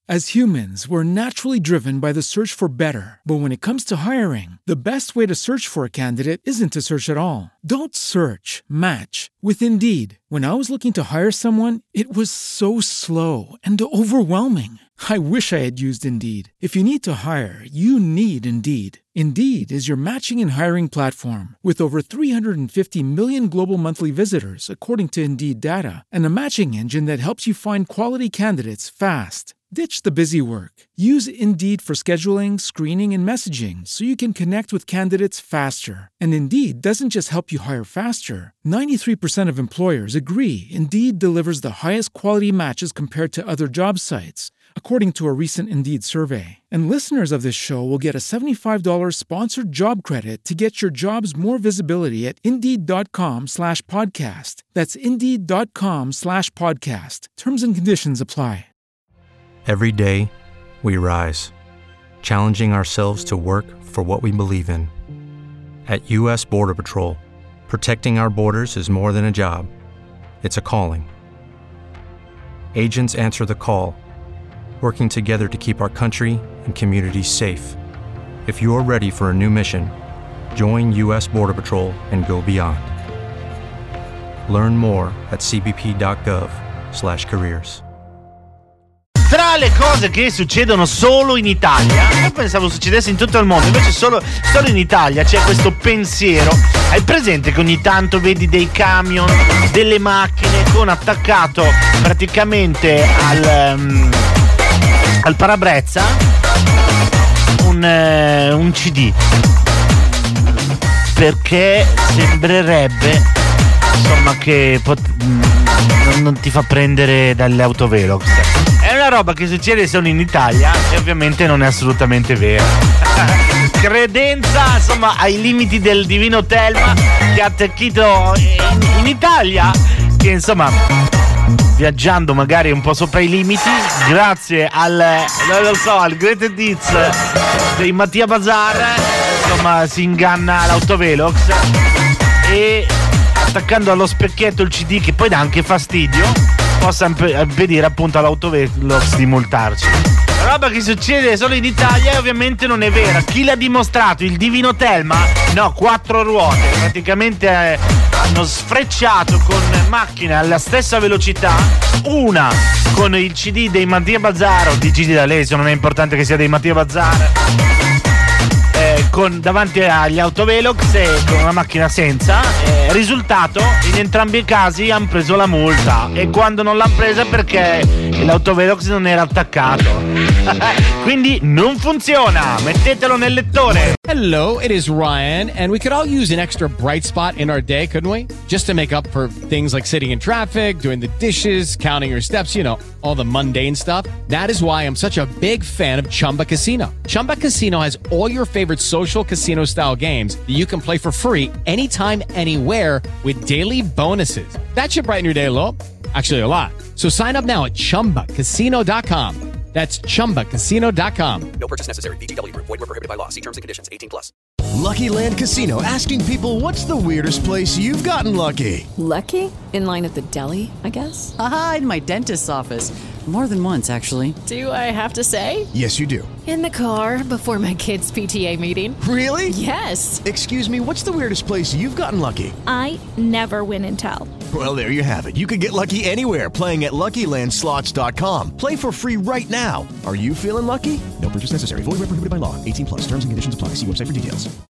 As humans, we're naturally driven by the search for better. But when it comes to hiring, the best way to search for a candidate isn't to search at all. Don't search, match with Indeed. When I was looking to hire someone, it was so slow and overwhelming. I wish I had used Indeed. If you need to hire, you need Indeed. Indeed is your matching and hiring platform with over 350 million global monthly visitors, according to Indeed data, and a matching engine that helps you find quality candidates fast. Ditch the busy work. Use Indeed for scheduling, screening, and messaging so you can connect with candidates faster. And Indeed doesn't just help you hire faster. 93% of employers agree Indeed delivers the highest quality matches compared to other job sites, according to a recent Indeed survey. And listeners of this show will get a $75 sponsored job credit to get your jobs more visibility at Indeed.com/podcast. That's Indeed.com/podcast. Terms and conditions apply. Every day, we rise, challenging ourselves to work for what we believe in. At U.S. Border Patrol, protecting our borders is more than a job. It's a calling. Agents answer the call, working together to keep our country and communities safe. If you're ready for a new mission, join U.S. Border Patrol and go beyond. Learn more at cbp.gov/careers. Tra le cose che succedono solo in Italia, io pensavo succedesse in tutto il mondo, invece solo in Italia c'è questo pensiero. Hai presente che ogni tanto vedi dei camion, delle macchine con attaccato praticamente al parabrezza un CD? Perché sembrerebbe, insomma, che non ti fa prendere dalle autovelox. È una roba che succede solo in Italia e ovviamente non è assolutamente vera. Credenza, insomma, ai limiti del divino Telma, che ha attecchito in Italia, che insomma, viaggiando magari un po' sopra i limiti, grazie al greatest hits dei Mattia Bazar, insomma, si inganna l'autovelox e attaccando allo specchietto il CD, che poi dà anche fastidio, possa impedire appunto all'autovelox di multarci. La roba che succede solo in Italia e ovviamente non è vera. Chi l'ha dimostrato? Il divino Telma? No, 4 ruote. Praticamente hanno sfrecciato con macchine alla stessa velocità, una con il CD dei Mattia Bazar o di Gigi D'Alessio, non è importante che sia dei Mattia Bazar, davanti agli autovelox e con una macchina senza. Risultato, in entrambi i casi hanno preso la multa, e quando non l'hanno presa perché l'autovelox non era attaccato. Quindi non funziona, mettetelo nel lettore. Hello, it is Ryan, and we could all use an extra bright spot in our day, couldn't we? Just to make up for things like sitting in traffic, doing the dishes, counting your steps, all the mundane stuff. That is why I'm such a big fan of Chumba Casino. Chumba Casino has all your favorite social casino style games that you can play for free anytime, anywhere with daily bonuses. That should brighten your day a little. Actually, a lot. So sign up now at ChumbaCasino.com. That's ChumbaCasino.com. No purchase necessary. VGW Group. Void where prohibited by law. See terms and conditions. 18+. Lucky Land Casino, asking people, what's the weirdest place you've gotten lucky? Lucky? In line at the deli, I guess? Aha, in my dentist's office. More than once, actually. Do I have to say? Yes, you do. In the car before my kids' PTA meeting. Really? Yes. Excuse me, what's the weirdest place you've gotten lucky? I never win and tell. Well, there you have it. You can get lucky anywhere, playing at LuckyLandSlots.com. Play for free right now. Are you feeling lucky? No purchase necessary. Void where prohibited by law. 18+. Terms and conditions apply. See website for details.